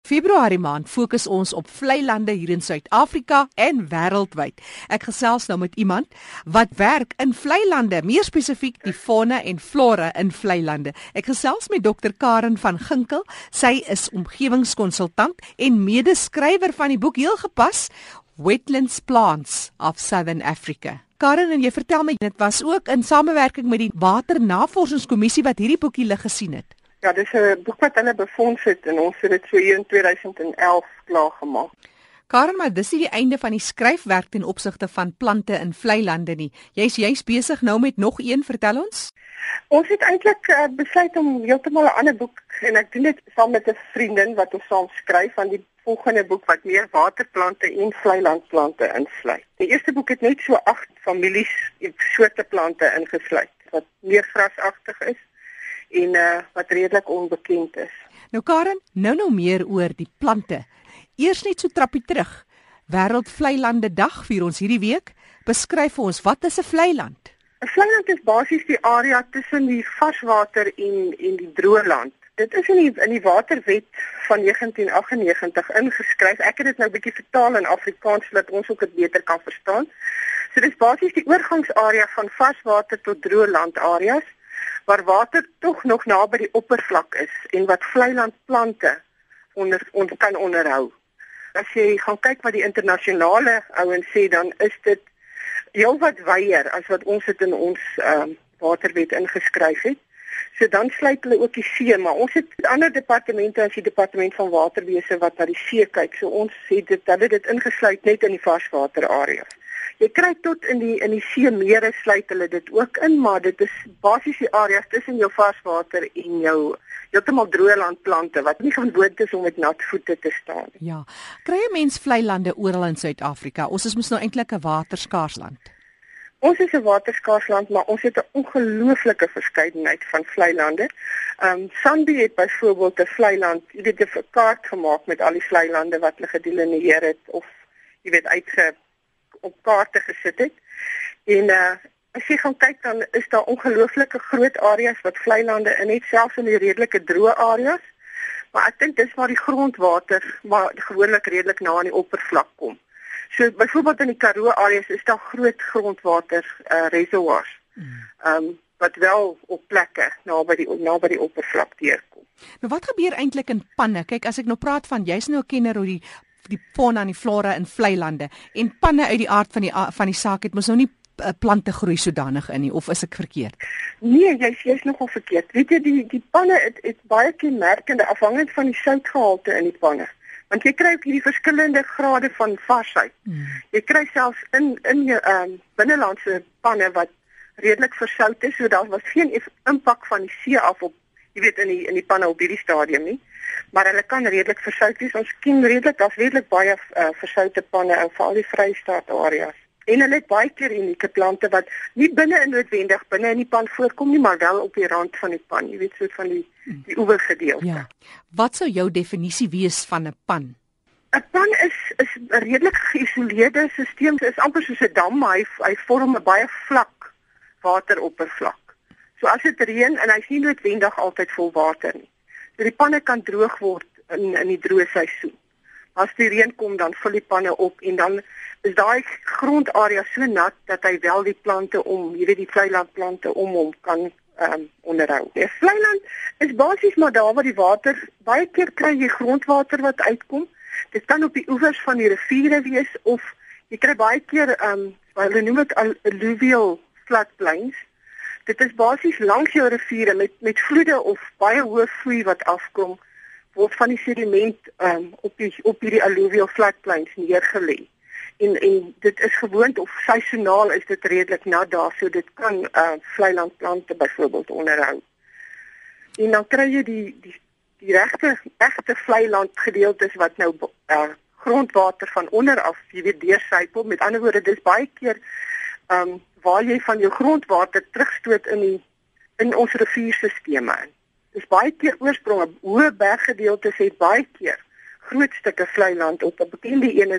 Februarie maand fokus ons op vlei lande hier in Suid-Afrika en wêreldwyd. Ek gesels nou met iemand wat werk in vlei lande, meer spesifiek die fauna en flora in vlei lande. Ek gesels met Dr. Karen van Ginkel. Sy is omgewingskonsultant en medeskrywer van die boek heel gepas, Wetlands Plants of Southern Africa. Karen, en jy vertel my, dit was ook in samewerking met die Waternavorsingskommissie wat hierdie boekie lig gesien het. Ja, dis 'n boek wat hulle befonds het en ons het dit so hier in 2011 klaar gemaak. Karen, maar dis nie die einde van die skryfwerk ten opsigte van plante in vlei lande nie. Jy's besig nou met nog een, vertel ons? Ons het eintlik besluit om heeltemal 'n ander boek en ek doen dit saam met 'n vriendin wat ons saam skryf van die volgende boek wat meer waterplante en vleilandplante insluit. Die eerste boek het net so 8 families en soorte plante ingesluit wat meer grasagtig is en wat redelik onbekend is. Nou Karen, nou meer oor die plante. Eers net so trappie terug. Wêreld Vlei Lande Dag vier ons hierdie week. Beskryf vir ons, wat is 'n vlei land? 'n Vlei land is basies die area tussen die varswater en die droë land. Dit is in die waterwet van 1998 ingeskryf. Ek het dit nou 'n bietjie vertaal in Afrikaans sodat ons ook dit beter kan verstaan. So dis basies die oorgangsarea van varswater tot droë land areas waar water tog nog naby die oppervlak is en wat vleilandplante kan onderhou. As jy gaan kyk wat die internasionale ouens sê, dan is dit heelwat wyer as wat ons dit in ons waterwet ingeskryf het. So dan sluit hulle ook die see, maar ons het ander departemente as die departement van waterwese wat na die see kyk. So ons het dit ingesluit net in die varswaterareas. Jy kry tot in die see mere sluit hulle dit ook in, maar dit is basies die areas tussen jou varswater en jou heeltemal droë landplante wat nie gewoond is om met nat voete te staan. Ja, kry 'n mens vlei lande oral in Suid-Afrika? Ons is mos nou eintlik 'n waterskaars land. Ons is 'n waterskaars land, maar ons het 'n ongelooflike verskeidenheid van vlei lande. Sandby het byvoorbeeld 'n vlei land, jy weet, 'n kaart gemaak met al die vlei lande wat hulle gedelineer het of jy weet op kaarte gesit het. En as jy gaan kyk, dan is daar ongelooflike groot areas wat vlei lande in het, selfs in die redelike droë areas. Maar ek dink dis waar die grondwater maar gewoonlik redelik na aan die oppervlak kom. So byvoorbeeld in die Karoo areas is daar groot grondwater reservoirs. Wat wel op plekke naby die oppervlak deurkom. Nou wat gebeur eintlik in panne? Kyk, as ek nou praat van jy's nou 'n kenner oor die fauna en die flora in vlei lande en panne uit die aard van die saak het mos nou nie plante groei sodanig in nie, of is ek verkeerd? Nee, jy's nogal verkeerd. Weet jy, die panne het baie kenmerkende afhangend van die soutgehalte in die panne. Want jy kry ook hierdie verskillende grade van varsheid. Jy kry selfs in jou binnelandse panne wat redelik versout is, so daar was geen impak van die see af op, jy weet, in die panne op hierdie stadium nie. Maar hulle kan redelik versout wees. Ons ken redelik baie versoute panne in veral die Vrystaat areas. En hulle het baie keer unieke plante wat nie binne in die pan voorkom nie, maar wel op die rand van die pan, jy weet, so van die oevergedeelte. Ja. Wat sou jou definisie wees van 'n pan? 'n Pan is 'n redelik geïsoleerde stelsel. Dit is amper soos 'n dam, maar hy vorm 'n baie vlak wateroppervlak. So as dit reën en hy's nie noodwendig altyd vol water nie. So die panne kan droog word in die droë seisoen. As die reën kom, dan vul die panne op en dan is daai grondarea so nat dat hy wel die plante jy weet, die vleilandplante hom kan onderhou. Die vleiland is basies maar daar waar die water, baie keer kry jy grondwater wat uitkom. Dit kan op die oewers van die riviere wees of jy kry baie keer hulle noem dit alluvial floodplains. Dit is basies langs jou riviere met vloede of baie hoë vloei wat afkom, word van die sediment op hierdie alluvial floodplains neergelê. En dit is gewoond of seisoonaal is dit redelik nat daar, so dit kan vleilandplante byvoorbeeld onderhou. En dan kry jy die regte vleiland gedeeltes wat nou grondwater van onder af, jy weet, deursypel. Met ander woorde, dis baie keer waar jy van jou grondwater terugstoot in ons rivierstelsels in. Dis baie keer oorspronge, hoë berggedeeltes het baie keer groot stukke vlei land op. 'n Bekende een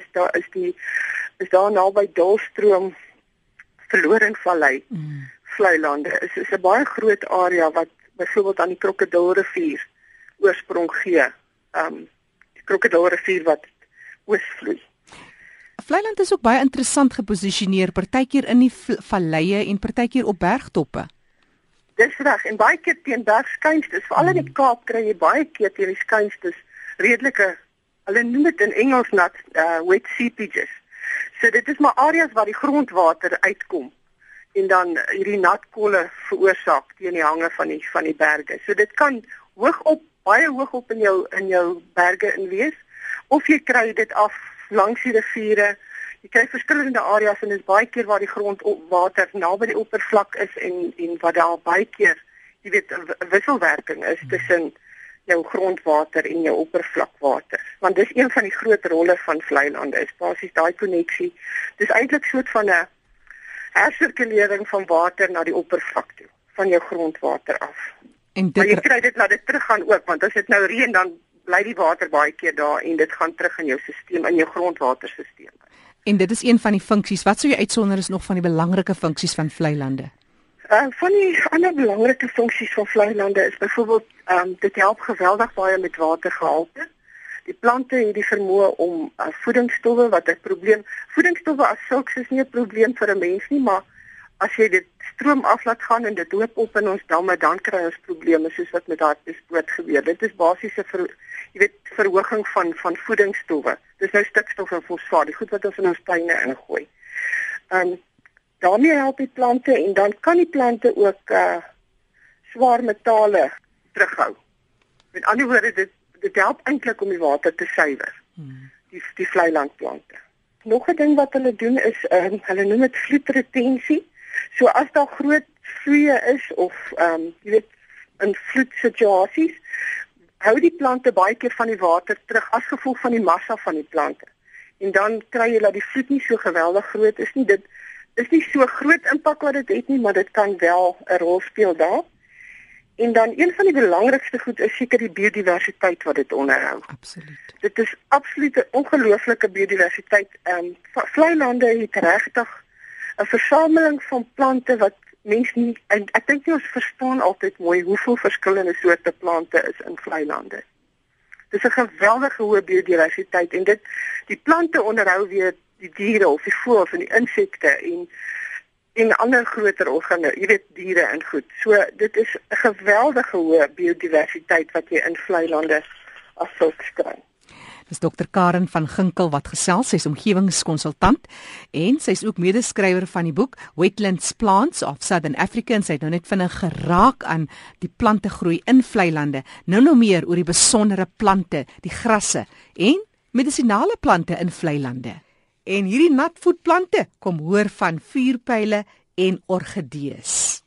is daar naby Dullstroom Verlorenvallei vlei lande. Is 'n baie groot area wat byvoorbeeld aan die Krokodilrivier oorsprong gee. Krokodilrivier wat oosvloei. Vlei-land is ook baie interessant geposisioneer, partykeer in die valleie en partykeer op bergtoppe. Dis reg, en baie keer teen bergskuinstes, veral in die Kaap kry jy baie keer teen die skuinstes redelike, hulle noem dit in Engels wet seepages. So dit is maar areas waar die grondwater uitkom en dan hierdie natkolle veroorsaak teen die hange van die berge. So dit kan baie hoog op in jou berge in wees, of jy kry dit af langs die riviere. Jy kry verskillende areas en dit is baie keer waar die grondwater naby die oppervlak is en wat daar baie keer, jy weet, 'n wisselwerking is tussen jou grondwater en jou oppervlakwater. Want dis een van die groot rolle van vleilande, is basies daai koneksie. Dis eintlik soort van 'n hersirkulering van water na die oppervlak toe, van jou grondwater af. Maar jy kry dit laat dit teruggaan ook, want as dit nou reën dan bly die water baie keer daar en dit gaan terug in jou stelsel, in jou grondwaterstelsel. En dit is een van die funksies. Wat sou jy uitsonder is nog van die belangrike funksies van vleilande? Van die ander belangrike funksies van vleilande is byvoorbeeld, dit help geweldig baie met watergehalte. Die plante het die vermoë om voedingsstowwe, wat 'n probleem, voedingsstowwe as sulks is nie 'n probleem vir 'n mens nie, maar as jy dit stroom af laat gaan en dit loop op in ons damme, dan kry ons probleme soos wat met Hartbeespoort gebeur. Dit is basies 'n verhoging van voedingsstowwe. Dis nou stikstof en fosfaat, die goed wat ons in ons tuine ingooi. Daarmee help die plante en dan kan die plante ook swaar metale terughou. Met ander woorde, dit help eintlik om die water te suiwer. Die vleilandplante. Nog 'n ding wat hulle doen is, hulle noem dit vloedretensie. So as daar groot vloeie is of jy weet, in vloedsituasies, hou die plante baie keer van die water terug as gevolg van die massa van die plante. En dan kry jy dat die vloed nie so geweldig groot is nie. Dit is nie so groot impak wat dit het nie, maar dit kan wel 'n rol speel daar. En dan een van die belangrikste goed is seker die biodiversiteit wat dit onderhou. Absoluut. Dit is absoluut 'n ongelooflike biodiversiteit. Vleilande het regtig 'n versameling van plante wat mens nie, en ek dink nie ons verstaan altyd mooi hoeveel verskillende soorte plante is in vleilande. Dis 'n geweldige hoë biodiversiteit en die plante onderhou weer die diere of die voëls en die insekte en ander groter organe, jy weet, diere en goed. So dit is 'n geweldige hoë biodiversiteit wat jy in vleilande as sulks kry. Dis Dr. Karen van Ginkel wat gesels, sy is omgewingskonsultant en sy is ook medeskrywer van die boek Wetlands Plants of Southern Africa en sy het nou net vinnig geraak aan die plantegroei in vleilande. Nou meer oor die besondere plante, die grasse en medisinale plante in vleilande. En hierdie natvoetplante kom hoor van vuurpyle en orgidees.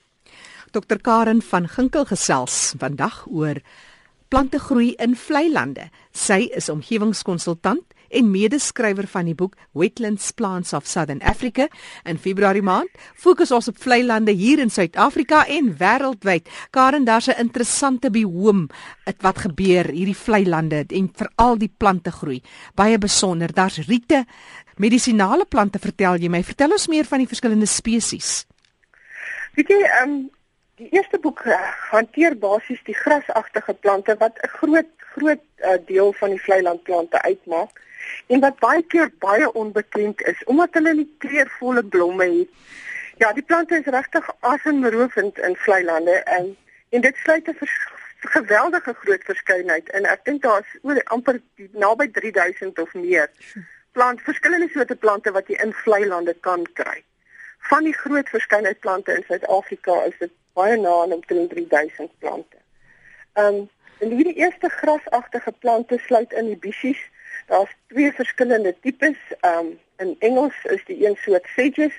Dr. Karen van Ginkel gesels vandag oor plantegroei in vleilande. Sy is omgewingskonsultant en medeskrywer van die boek Wetlands Plants of Southern Africa. In Februarie maand fokus ons op vleilande hier in Suid-Afrika en wêreldwyd. Karen, daar's 'n interessante bioom wat gebeur hierdie vleilande en veral die plantegroei. Baie besonder. Daar's riete, medisinale plante, vertel jy my. Vertel ons meer van die verskillende spesies. Weet jy, die eerste boek hanteer basies die grasagtige plante wat 'n groot deel van die vleilandplante uitmaak en wat baie keer baie onbekend is omdat hulle nie kleurvolle blomme het. Ja, die plante is regtig asemrowend in vleilande en dit sluit 'n geweldige groot verskeidenheid in. Ek dink daar is amper naby 3000 of meer verskillende soorte plante wat jy in vleilande kan kry. Van die groot verskeidenheid plante in Suid-Afrika is dit baie na aan omtrent 3000 plante. En hierdie eerste grasagtige plante sluit in die bissies. Daar's 2 verskillende tipes. In Engels is die een soort sedges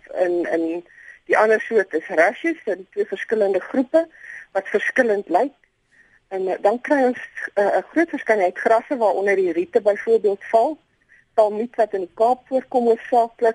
en die ander soort is rushes, en 2 verskillende groepe wat verskillend lyk. En dan kry ons 'n groot verskeidenheid grasse waaronder die riete byvoorbeeld val. Talmiet wat in die Kaap voorkom hoofsaaklik.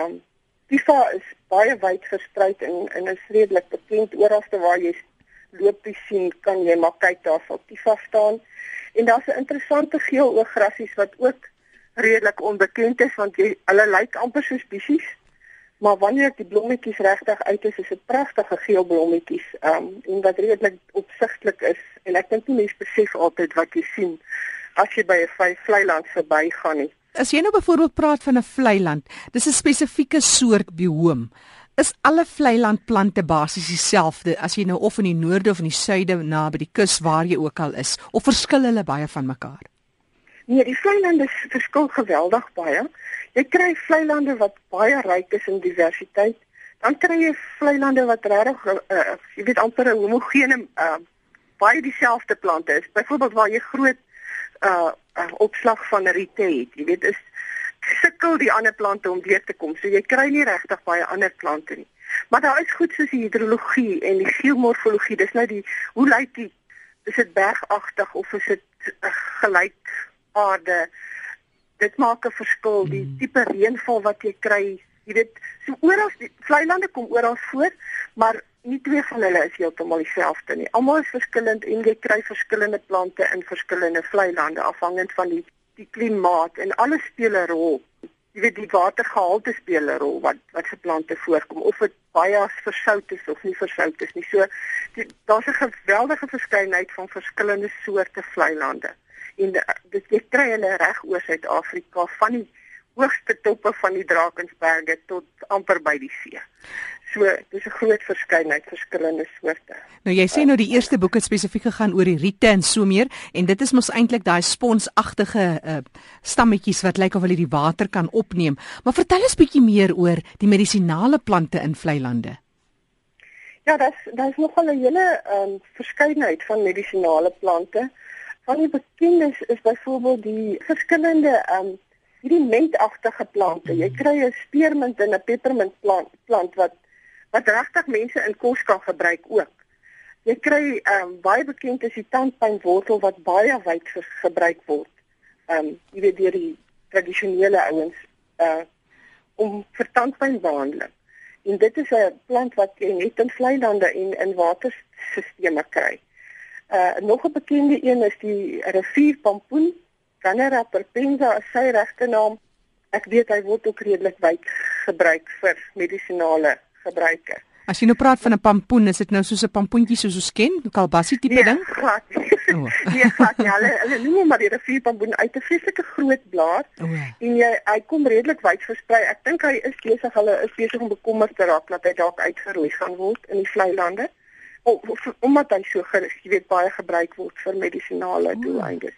Tifa is baie wyd versprei en is redelik bekend. Oralste waar jy lopies sien, kan jy maar kyk, daar sal Tifa staan. En daar's 'n interessante geeloograssies wat ook redelik onbekend is, want hulle lyk amper soos bissies. Maar wanneer die blommetjies regtig uit is dit pragtige geel blommetjies, en wat redelik opsigtelik is. En ek dink nie mense besef altyd wat jy sien as jy by 'n vlei land verbygaan nie. As jy nou byvoorbeeld praat van 'n vlei land, dis 'n spesifieke soort bioom. Is alle vlei landplante basies dieselfde as jy nou of in die noorde of in die suide na by die kus waar jy ook al is, of verskil hulle baie van mekaar? Nee, die vlei lande verskil geweldig baie. Jy kry vlei lande wat baie ryk is in diversiteit. Dan kry jy vlei lande wat regtig jy weet amper 'n homogene baie dieselfde plante is. Byvoorbeeld waar jy groot opslag van riete het. Jy weet is sukkel die ander plante om deur te kom. So jy kry nie regtig baie ander plante nie. Maar daar is goed soos die hidrologie en die geomorfologie. Dis nou hoe lyk die is dit bergagtig of is dit gelyk aarde? Dit maak 'n verskil. Die tipe reënval wat jy kry, jy weet, so oral die vlei lande kom oral voor, maar nie twee van hulle is heeltemal dieselfde nie. Almal is verskillend en jy kry verskillende plante in verskillende vlei lande afhangend van die klimaat en alles speel 'n rol. Jy weet die watergehalte speel 'n rol wat se plante voorkom of dit baie versout is of nie versout is nie. So daar's 'n geweldige verskeidenheid van verskillende soorte vlei lande. En dit jy kry hulle reg oor Suid-Afrika van die hoogste toppe van die Drakensberge tot amper by die see. So, dis 'n groot verskeidenheid verskillende soorte. Nou jy sê nou die eerste boek het spesifiek gegaan oor die riete en so meer en dit is mos eintlik daai sponsagtige stammetjies wat lyk of hulle die water kan opneem. Maar vertel eens bietjie meer oor die medisinale plante in vlei lande. Ja, daar's nogal 'n hele verskeidenheid van medisinale plante. Van die bekendes is byvoorbeeld die verskillende hierdie mentagtige plante. Jy kry 'n spearmint en 'n peppermint plant wat regtig mense in kos kan gebruik ook. Jy kry baie bekend is die tandpynwortel wat baie wyd gebruik word. Jy weet deur die tradisionele ouens om vir tandpynbehandeling. En dit is 'n plant wat jy net in vlei lande en in waterstelsels kry. Nog 'n bekende een is die rivierpampoen, Cannera perpensa is sy regte naam. Ek weet hy word ook redelik wyd gebruik vir medisinale gebruike. As jy nou praat van 'n pampoen, is dit nou soos 'n pampoentjie soos ons ken, 'n kalbassie tipe ding? Glad nie. Nee, glad nie. Hulle noem maar die rivierpampoen uit 'n vreeslike groot blaar. En hy kom redelik wyd versprei. Ek dink hy is besig om bekommerd te raak dat hy dalk uitgeroei gaan word in die vlei lande. Omdat hy so baie gebruik word vir medisinale doeleindes.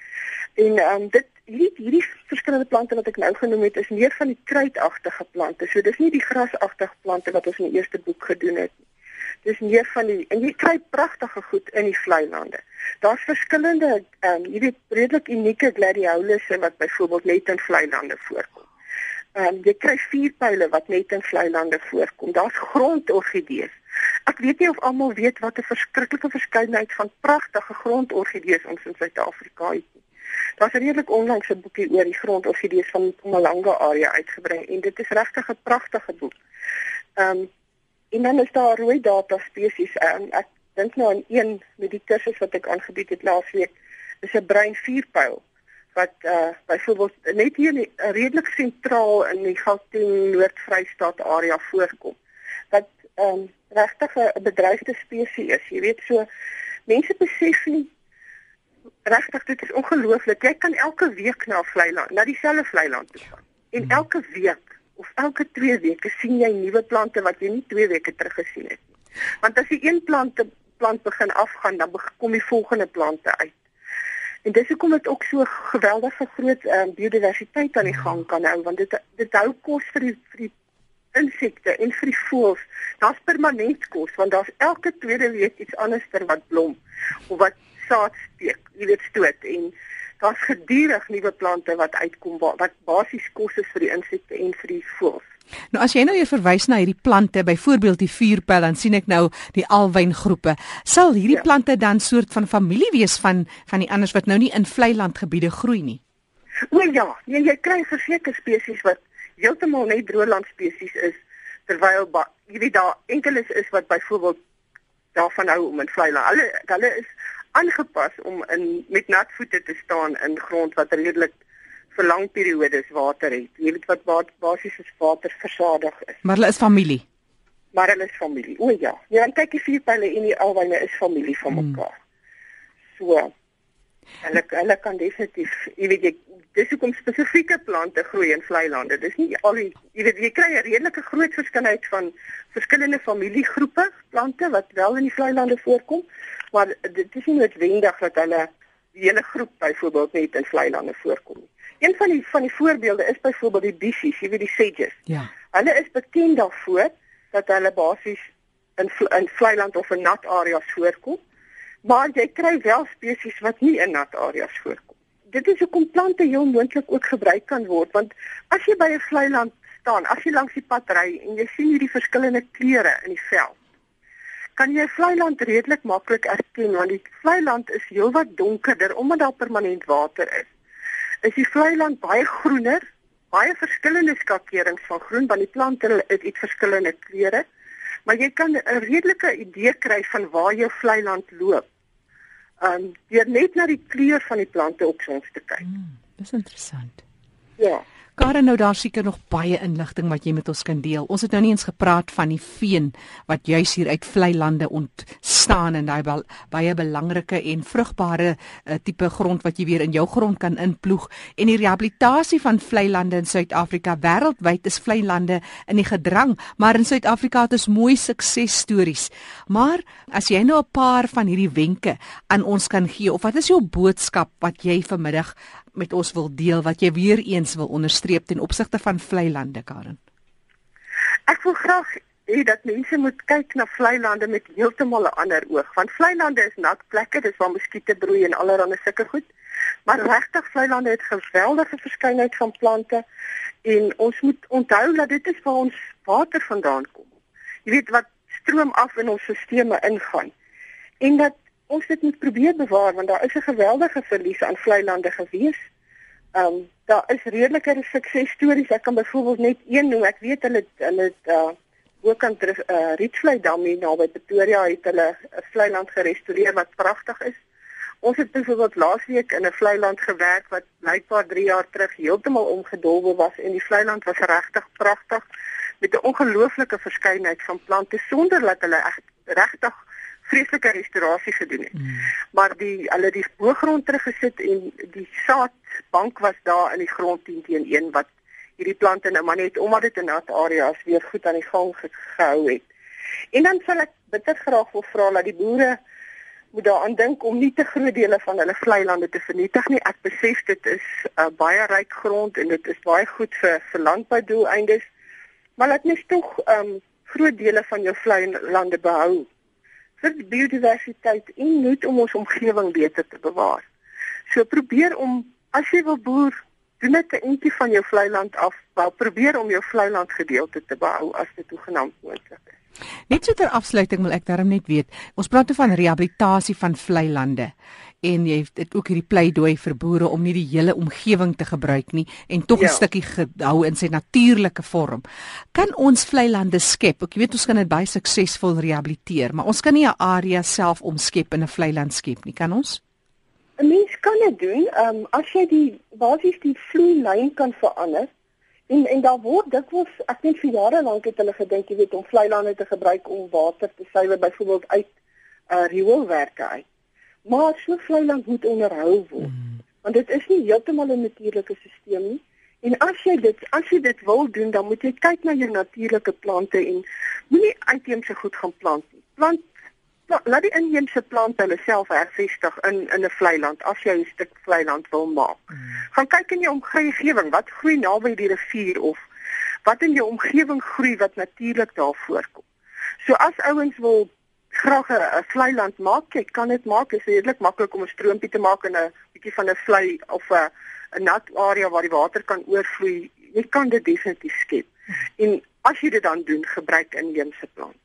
En hierdie verskillende plante wat ek nou genoem het, is meer van die kruidagtige plante. So dis nie die grasagtige plante wat ons in die eerste boek gedoen het nie. Dis meer van en jy kry pragtige goed in die vlei lande. Daar's verskillende redelik unieke gladiolusse wat byvoorbeeld net in vlei lande voorkom. Jy kry vuurpyle wat net in vlei lande voorkom. Daar's grondorgidees. Ek weet nie of almal weet wat 'n verskriklike verskeidenheid van pragtige grondorgidees ons in Suid-Afrika het nie. Daar's redelik onlangs 'n boekie oor die grondorgidees van die Mpumalanga area uitgebring en dit is regtig 'n pragtige boek. En dan is daar rooi data spesies. Ek dink nou aan een met die kursus wat ek aangebied het laasweek, is 'n bruin vuurpyl wat byvoorbeeld net hier redelik sentraal in die Gauteng Noord-Vrystaat area voorkom. Wat regtig 'n bedreigde spesies is. Jy weet so mense besef nie regtig, dit is ongelooflik. Jy kan elke week na dieselfde vlei land toe gaan. En elke week of elke 2 weke sien jy nuwe plante wat jy nie 2 weke terug gesien het nie. Want as die een plant begin afgaan, dan kom die volgende plante uit. En dis hoekom dit ook so geweldige groot biodiversiteit aan die gang kan hou, want dit hou kos vir die insekte en vir die voëls. Daar's permanent kos, want daar's elke tweede week iets anders wat blom of wat saad steek, jy weet stoot en daar's gedurig nuwe plante wat uitkom wat basies kos is vir die insekte en vir die voëls. Nou as jy nou verwys na hierdie plante, byvoorbeeld die vuurpyl, dan sien ek nou die alwyngroepe. Sal hierdie plante dan soort van familie wees van die anders wat nou nie in vlei landgebiede groei nie? O ja, jy kry verseker spesies wat heeltemal net droëland spesies is, terwyl jy weet daar enkeles is wat byvoorbeeld daarvan hou om in vlei land. Hulle is aangepas om met nat voete te staan in grond wat redelik vir lang periodes water het. Jy weet wat basies is water versadig is. Maar hulle is familie. Maar hulle is familie. O ja. Ja, en kyk die vuurpyle en die alwyne is familie van mekaar. So. Hulle kan definitief, dis hoekom spesifieke plante groei in vlei lande. Dis nie al die, jy kry 'n redelike groot verskeidenheid van verskillende familiegroepe plante wat wel in die vlei lande voorkom, maar dit is nie noodwendig dat hulle die hele groep byvoorbeeld net in vlei lande voorkom nie. Een van die voorbeelde is byvoorbeeld die bissies, die sedges. Ja. Hulle is bekend daarvoor dat hulle basies in vlei land of in nat areas voorkom. Maar jy kry wel spesies wat nie in nat areas voorkom. Dit is hoekom plante heel moontlik ook gebruik kan word, want as jy by 'n vlei land staan, as jy langs die pad ry en jy sien hierdie verskillende kleure in die veld, kan jy 'n vlei land redelik maklik erken, want die vlei land is heelwat donkerder omdat daar permanent water is. Is die vlei land baie groener, baie verskillende skakerings van groen, want die plante het iets verskillende kleure, maar jy kan 'n redelike idee kry van waar jou vlei land loop. Deur net na die kleur van die plante op soms te kyk. Dis interessant. Ja. Karen, nou daar seker nog baie inligting wat jy met ons kan deel. Ons het nou nie eens gepraat van die veen wat juis hier uit vlei lande ontstaan en daai baie belangrike en vrugbare tipe grond wat jy weer in jou grond kan inploeg. En die rehabilitasie van vlei lande in Suid-Afrika, wêreldwyd is vlei lande in die gedrang, maar in Suid-Afrika het ons mooi suksesstories. Maar as jy nou 'n paar van hierdie wenke aan ons kan gee, of wat is jou boodskap wat jy vanmiddag met ons wil deel, wat jy weer eens wil onderstreep ten opsigte van vlei lande, Karen? Ek wil graag hê dat mense moet kyk na vlei lande met heeltemal 'n ander oog, want vlei lande is nat plekke, dis waar muskiete broei en allerlei sulke goed. Maar regtig vlei lande het geweldige verskeidenheid van plante en ons moet onthou dat dit is waar ons water vandaan kom. Jy weet wat stroom af in ons stelsels ingaan. En dat ons dit moet probeer bewaar, want daar is 'n geweldige verlies aan vlei lande gewees. Daar is redelike suksesstories. Ek kan byvoorbeeld net een noem. Ek weet hulle het bokant Rietvlei Dam hier naby Pretoria het hulle 'n vlei land gerestoreer wat pragtig is. Ons het byvoorbeeld laasweek in 'n vlei land gewerk wat blykbaar 3 jaar terug heeltemal omgedolwe was en die vlei land was regtig pragtig met 'n ongelooflike verskeidenheid van plante sonder dat hulle regtig vreeslike restaurasie gedoen het. Maar hulle die boergrond teruggesit en die saadbank was daar in die grond 10 teen 1 wat hierdie plante nou maar net omdat dit in nat areas weer goed aan die gang gehou het. En dan sal ek bitter graag wil vra dat die boere moet daaraan dink om nie te groot dele van hulle vlei lande te vernietig nie. Ek besef dit is baie ryk grond en dit is baie goed vir landboudoeleindes, maar laat mens tog groot dele van jou vlei lande behou vir biodiversiteit en net om ons omgewing beter te bewaar. So probeer om, as jy wil boer, doen dit 'n entjie van jou vlei land af, maar probeer om jou vlei land gedeelte te behou as dit toegenaamd moontlik is. Net so ter afsluiting wil ek daarom net weet, ons praat van rehabilitasie van vlei lande en jy het ook hierdie pleidooi vir boere om nie die hele omgewing te gebruik nie en tog 'n stukkie gehou in sy natuurlike vorm. Kan ons vlei lande skep? Ek weet ons kan dit baie suksesvol rehabiliteer, maar ons kan nie 'n area self omskep in 'n vlei land skep nie, kan ons? 'n Mens kan dit doen, as jy die vloeilyn kan verander. En daar word dikwels, ek net vir jare lank het hulle gedink, jy weet, om vlei lande te gebruik om water te suiwer, byvoorbeeld uit rioolwerke uit. Maar so vlei land moet onderhou word, want dit is nie heeltemal 'n natuurlike stelsel nie. En as jy dit wil doen, dan moet jy kyk na jou natuurlike plante en moenie uitheemse goed gaan plant nie. Laat die inheemse plante hulle self hervestig in 'n vlei land as jy 'n stuk vlei land wil maak. Gaan kyk in jou omgewing, wat groei naby die rivier of wat in jou omgewing groei wat natuurlik daar voorkom. So as ouens wil graag 'n vlei land maak, jy kan dit maak. Dit is redelik maklik om 'n stroompie te maak in 'n bietjie van 'n vlei of 'n nat area waar die water kan oorvloei. Jy kan dit definitief skep. En as jy dit dan doen, gebruik inheemse plante.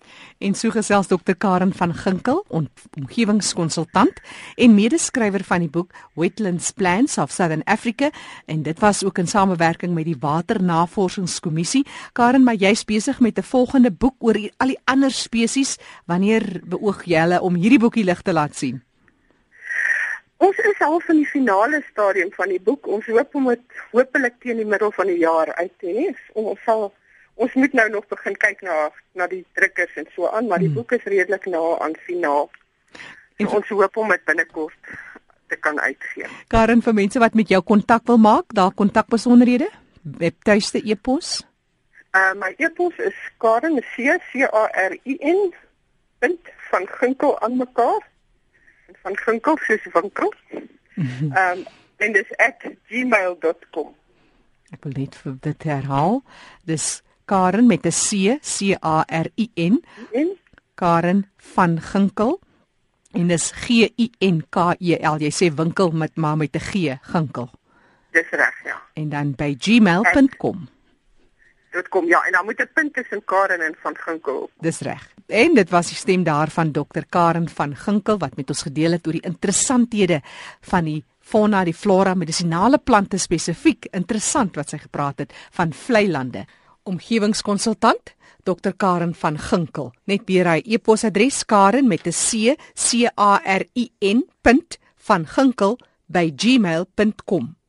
En so gesels Dr. Karen van Ginkel, omgewingskonsultant en medeskrywer van die boek Wetlands Plans of Southern Africa, en dit was ook in samewerking met die Waternavorsingskommissie. Karen, maar jy's besig met 'n volgende boek oor al die ander spesies. Wanneer beoog jy om hierdie boekie lig te laat sien? Ons is al in die finale stadium van die boek. Ons hoop om dit hopelik teen die middel van die jaar uit te hê. Ons moet nou nog begin kyk na die drukkers en so aan, maar die boek is redelik na aan finaal. En ons hoop om dit binnekort te kan uitgee. Karen, vir mense wat met jou kontak wil maak, daar kontakbesonderhede, webtuiste, e-pos. My e-pos is Karen CARIN van Ginkel aan mekaar. Van Ginkel soos winkel. En dis @gmail.com. Ek wil net vir dit herhaal. Dis Karen met 'n C, CARIN. Karen van Ginkel. En dis GINKEL. Jy sê winkel met maar met 'n G, Ginkel. Dis reg, ja. En dan by gmail.com. Dit kom ja, en dan moet 'n punt tussen Karen en van Ginkel. Dis reg. En dit was die stem daarvan Dr. Karen van Ginkel wat met ons gedeel het oor die interessanthede van die fauna, die flora, medisinale plante spesifiek. Interessant wat sy gepraat het van vlei lande. Omgewingskonsultant Dr. Karen van Ginkel. Net weer hy e-posadres Karen met 'n C, CARIN. van Ginkel by gmail.com.